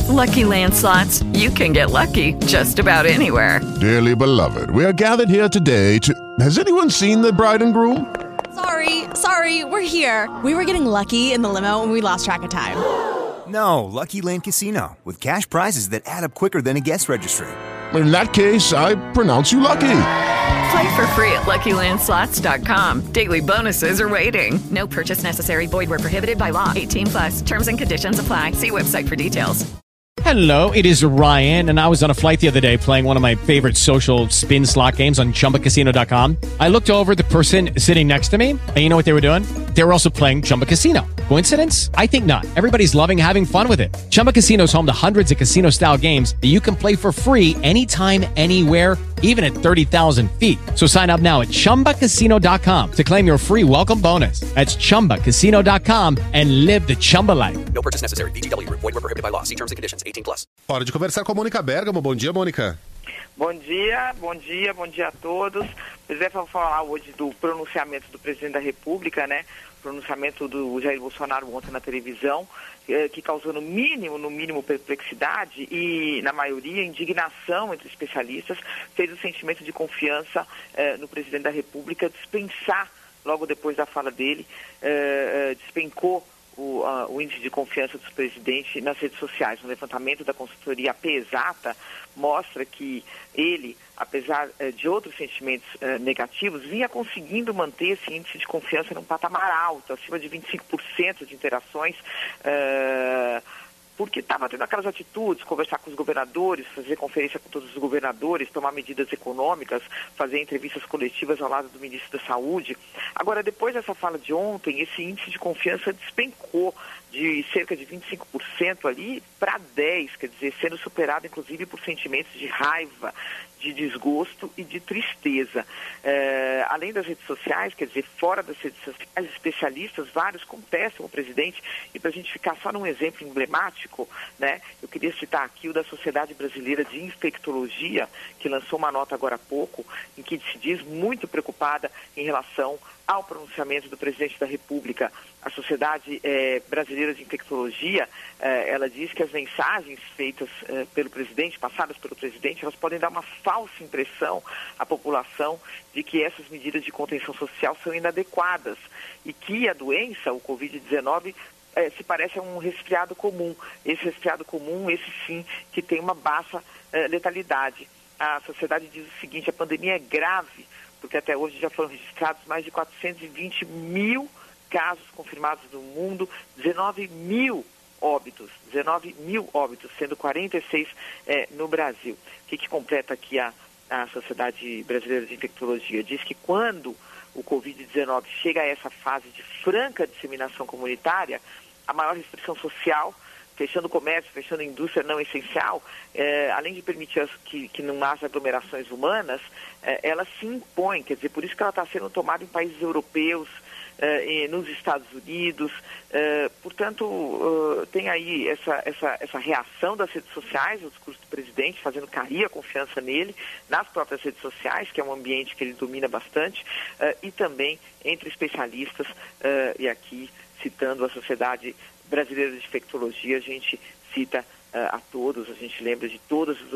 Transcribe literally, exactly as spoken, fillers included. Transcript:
Lucky Land Slots, you can get lucky just about anywhere. Dearly beloved, we are gathered here today to... Has anyone seen the bride and groom? Sorry, sorry, we're here. We were getting lucky in the limo and we lost track of time. No, Lucky Land Casino, with cash prizes that add up quicker than a guest registry. In that case, I pronounce you lucky. Play for free at Lucky Land Slots dot com. Daily bonuses are waiting. No purchase necessary. Void where prohibited by law. eighteen plus. Terms and conditions apply. See website for details. Hello, it is Ryan, and I was on a flight the other day playing one of my favorite social spin slot games on Chumba Casino dot com. I looked over at the person sitting next to me, and you know what they were doing? They were also playing Chumba Casino. Coincidence? I think not. Everybody's loving having fun with it. Chumba Casino is home to hundreds of casino-style games that you can play for free anytime, anywhere, even at thirty thousand feet. So sign up now at Chumba Casino dot com to claim your free welcome bonus. That's Chumba Casino dot com and live the Chumba life. No purchase necessary. V G W. Void where prohibited by law. See terms and conditions. eighteen plus. Hora de conversar com a Mônica Bergamo. Bom dia, Mônica. Bom dia, bom dia, bom dia a todos. Pois é, vamos falar hoje do pronunciamento do presidente da República, né? Pronunciamento do Jair Bolsonaro ontem na televisão, eh, que causou no mínimo, no mínimo perplexidade e, na maioria, indignação entre especialistas, fez o sentimento de confiança eh, no presidente da República dispensar, logo depois da fala dele, eh, eh, despencou O, uh, o índice de confiança do presidente nas redes sociais. Um levantamento da consultoria Pesata mostra que ele, apesar uh, de outros sentimentos uh, negativos, vinha conseguindo manter esse índice de confiança num patamar alto, acima de vinte e cinco por cento de interações, uh, porque estava tendo aquelas atitudes, conversar com os governadores, fazer conferência com todos os governadores, tomar medidas econômicas, fazer entrevistas coletivas ao lado do ministro da Saúde. Agora, depois dessa fala de ontem, esse índice de confiança despencou de cerca de vinte e cinco por cento ali para dez por cento, quer dizer, sendo superado inclusive por sentimentos de raiva, de desgosto e de tristeza. É, além das redes sociais, quer dizer, fora das redes sociais, especialistas, vários contestam o presidente, e para a gente ficar só num exemplo emblemático, né, eu queria citar aqui o da Sociedade Brasileira de Infectologia, que lançou uma nota agora há pouco, em que se diz muito preocupada em relação ao pronunciamento do presidente da República. A Sociedade eh, Brasileira de Infectologia, eh, ela diz que as mensagens feitas eh, pelo presidente, passadas pelo presidente, elas podem dar uma falsa impressão à população de que essas medidas de contenção social são inadequadas e que a doença, o covid dezenove, eh, se parece a um resfriado comum. Esse resfriado comum, esse sim, que tem uma baixa eh, letalidade. A sociedade diz o seguinte: a pandemia é grave, porque até hoje já foram registrados mais de quatrocentos e vinte mil casos confirmados no mundo, dezenove mil óbitos, dezenove mil óbitos, sendo quarenta e seis eh, no Brasil. O que, que completa aqui a, a Sociedade Brasileira de Infectologia? Diz que quando o covid dezenove chega a essa fase de franca disseminação comunitária, a maior restrição social, fechando o comércio, fechando a indústria não essencial, eh, além de permitir as, que, que não haja aglomerações humanas, eh, ela se impõe, quer dizer, por isso que ela está sendo tomada em países europeus, eh, nos Estados Unidos, eh, portanto, uh, tem aí essa, essa, essa reação das redes sociais, o discurso do presidente, fazendo cair a confiança nele, nas próprias redes sociais, que é um ambiente que ele domina bastante, uh, e também entre especialistas, uh, e aqui citando a Sociedade Brasileira de Infectologia, a gente cita uh, a todos, a gente lembra de todas as